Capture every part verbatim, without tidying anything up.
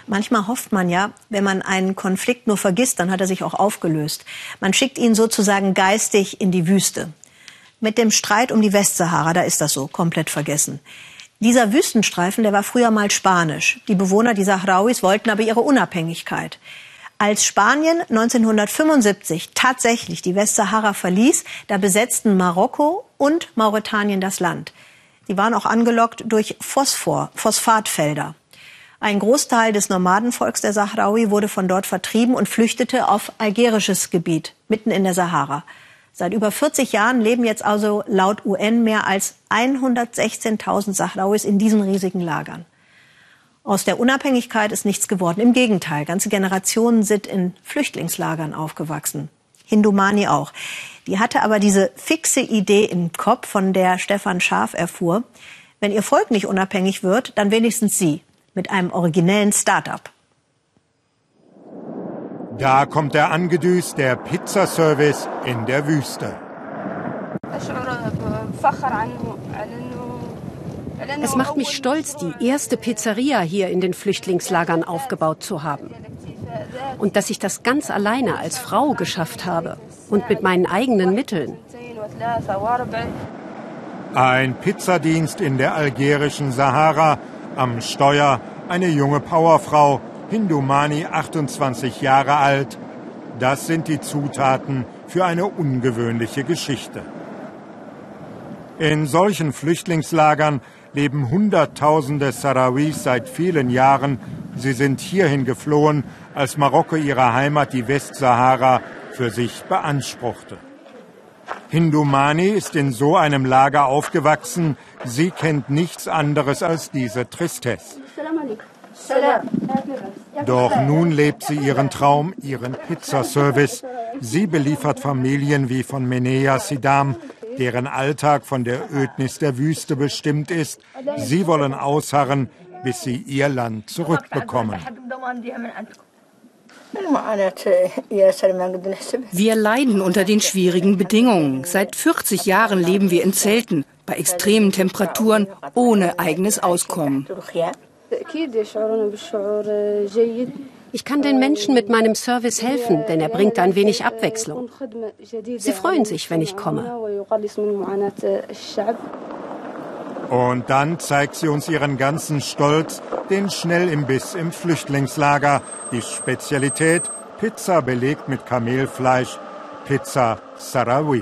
Manchmal hofft man ja, wenn man einen Konflikt nur vergisst, dann hat er sich auch aufgelöst. Man schickt ihn sozusagen geistig in die Wüste. Mit dem Streit um die Westsahara, da ist das so, komplett vergessen. Dieser Wüstenstreifen, der war früher mal spanisch. Die Bewohner, die Sahrauis, wollten aber ihre Unabhängigkeit. Als Spanien neunzehnhundertfünfundsiebzig tatsächlich die Westsahara verließ, da besetzten Marokko und Mauretanien das Land. Die waren auch angelockt durch Phosphor, Phosphatfelder. Ein Großteil des Nomadenvolks der Sahrawi wurde von dort vertrieben und flüchtete auf algerisches Gebiet, mitten in der Sahara. Seit über vierzig Jahren leben jetzt also laut U N mehr als hundertsechzehntausend Sahrauis in diesen riesigen Lagern. Aus der Unabhängigkeit ist nichts geworden. Im Gegenteil, ganze Generationen sind in Flüchtlingslagern aufgewachsen. Hindu Mani auch. Die hatte aber diese fixe Idee im Kopf, von der Stefan Scharf erfuhr. Wenn ihr Volk nicht unabhängig wird, dann wenigstens sie. Mit einem originellen Start-up. Da kommt er angedüst, der Pizzaservice in der Wüste. Es macht mich stolz, die erste Pizzeria hier in den Flüchtlingslagern aufgebaut zu haben. Und dass ich das ganz alleine als Frau geschafft habe und mit meinen eigenen Mitteln. Ein Pizzadienst in der algerischen Sahara. Am Steuer eine junge Powerfrau, Hindu Mani, achtundzwanzig Jahre alt. Das sind die Zutaten für eine ungewöhnliche Geschichte. In solchen Flüchtlingslagern leben Hunderttausende Sahrawis seit vielen Jahren. Sie sind hierhin geflohen, als Marokko ihre Heimat, die Westsahara, für sich beanspruchte. Hindu Mani ist in so einem Lager aufgewachsen. Sie kennt nichts anderes als diese Tristesse. Doch nun lebt sie ihren Traum, ihren Pizzaservice. Sie beliefert Familien wie von Menea Sidam, deren Alltag von der Ödnis der Wüste bestimmt ist. Sie wollen ausharren, bis sie ihr Land zurückbekommen. Wir leiden unter den schwierigen Bedingungen. Seit vierzig Jahren leben wir in Zelten, bei extremen Temperaturen, ohne eigenes Auskommen. Ich kann den Menschen mit meinem Service helfen, denn er bringt ein wenig Abwechslung. Sie freuen sich, wenn ich komme. Und dann zeigt sie uns ihren ganzen Stolz, den Schnellimbiss im Flüchtlingslager. Die Spezialität, Pizza belegt mit Kamelfleisch, Pizza Sahrawi.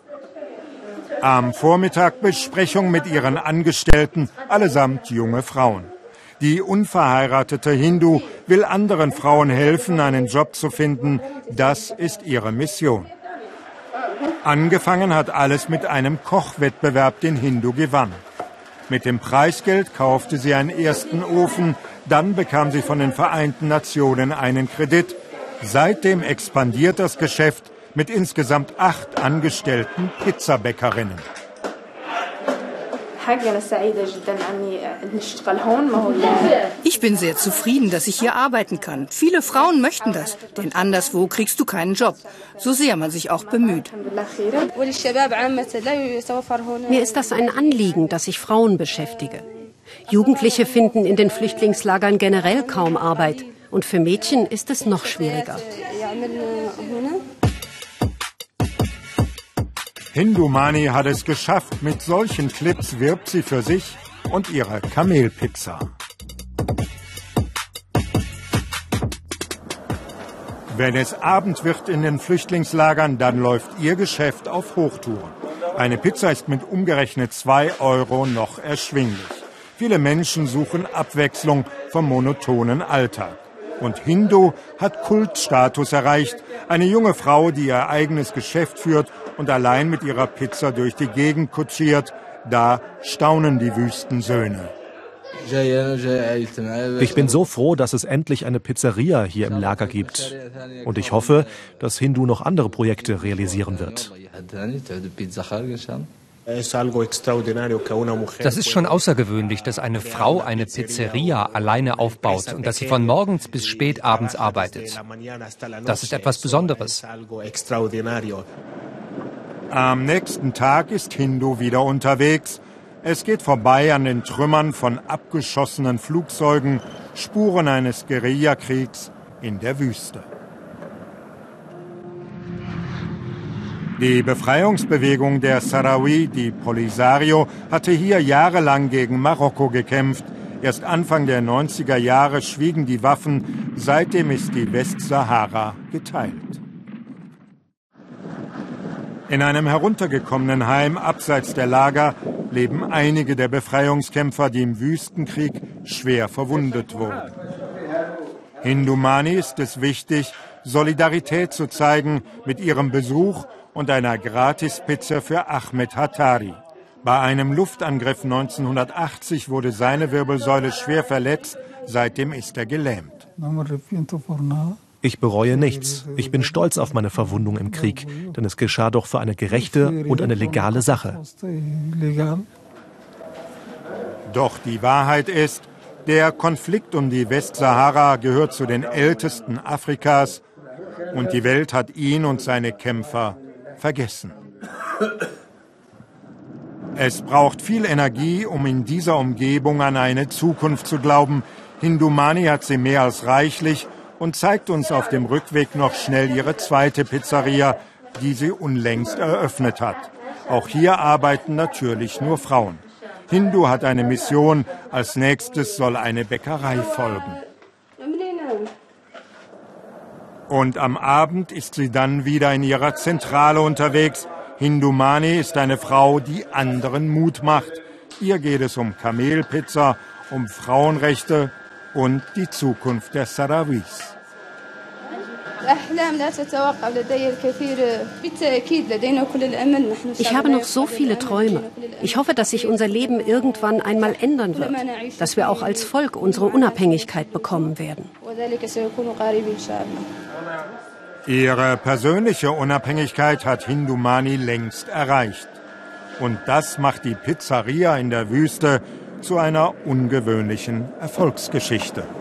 Am Vormittag Besprechung mit ihren Angestellten, allesamt junge Frauen. Die unverheiratete Hindu will anderen Frauen helfen, einen Job zu finden. Das ist ihre Mission. Angefangen hat alles mit einem Kochwettbewerb, den Hindu gewann. Mit dem Preisgeld kaufte sie einen ersten Ofen, dann bekam sie von den Vereinten Nationen einen Kredit. Seitdem expandiert das Geschäft mit insgesamt acht angestellten Pizzabäckerinnen. Ich bin sehr zufrieden, dass ich hier arbeiten kann. Viele Frauen möchten das, denn anderswo kriegst du keinen Job, so sehr man sich auch bemüht. Mir ist das ein Anliegen, dass ich Frauen beschäftige. Jugendliche finden in den Flüchtlingslagern generell kaum Arbeit. Und für Mädchen ist es noch schwieriger. Hindu Mani hat es geschafft. Mit solchen Clips wirbt sie für sich und ihre Kamelpizza. Wenn es Abend wird in den Flüchtlingslagern, dann läuft ihr Geschäft auf Hochtouren. Eine Pizza ist mit umgerechnet zwei Euro noch erschwinglich. Viele Menschen suchen Abwechslung vom monotonen Alltag. Und Hindu hat Kultstatus erreicht. Eine junge Frau, die ihr eigenes Geschäft führt und allein mit ihrer Pizza durch die Gegend kutschiert. Da staunen die Wüstensöhne. Ich bin so froh, dass es endlich eine Pizzeria hier im Lager gibt. Und ich hoffe, dass Hindu noch andere Projekte realisieren wird. Das ist schon außergewöhnlich, dass eine Frau eine Pizzeria alleine aufbaut und dass sie von morgens bis spät abends arbeitet. Das ist etwas Besonderes. Am nächsten Tag ist Hindu wieder unterwegs. Es geht vorbei an den Trümmern von abgeschossenen Flugzeugen Spuren eines Guerillakriegs in der Wüste. Die Befreiungsbewegung der Sahrawi, die Polisario, hatte hier jahrelang gegen Marokko gekämpft. Erst Anfang der neunziger Jahre schwiegen die Waffen, seitdem ist die Westsahara geteilt. In einem heruntergekommenen Heim abseits der Lager leben einige der Befreiungskämpfer, die im Wüstenkrieg schwer verwundet wurden. Hindu Mani ist es wichtig, Solidarität zu zeigen mit ihrem Besuch und einer Gratispizza für Ahmed Hattari. Bei einem Luftangriff neunzehnhundertachtzig wurde seine Wirbelsäule schwer verletzt, seitdem ist er gelähmt. Ich bereue nichts. Ich bin stolz auf meine Verwundung im Krieg, denn es geschah doch für eine gerechte und eine legale Sache. Doch die Wahrheit ist, der Konflikt um die Westsahara gehört zu den ältesten Afrikas und die Welt hat ihn und seine Kämpfer vergessen. Es braucht viel Energie, um in dieser Umgebung an eine Zukunft zu glauben. Hindu Mani hat sie mehr als reichlich und zeigt uns auf dem Rückweg noch schnell ihre zweite Pizzeria, die sie unlängst eröffnet hat. Auch hier arbeiten natürlich nur Frauen. Hindu hat eine Mission, als nächstes soll eine Bäckerei folgen. Und am Abend ist sie dann wieder in ihrer Zentrale unterwegs. Hindu Mani ist eine Frau, die anderen Mut macht. Ihr geht es um Kamelpizza, um Frauenrechte und die Zukunft der Sahrawis. Ich habe noch so viele Träume. Ich hoffe, dass sich unser Leben irgendwann einmal ändern wird, dass wir auch als Volk unsere Unabhängigkeit bekommen werden. Ihre persönliche Unabhängigkeit hat Hindu Mani längst erreicht. Und das macht die Pizzeria in der Wüste zu einer ungewöhnlichen Erfolgsgeschichte.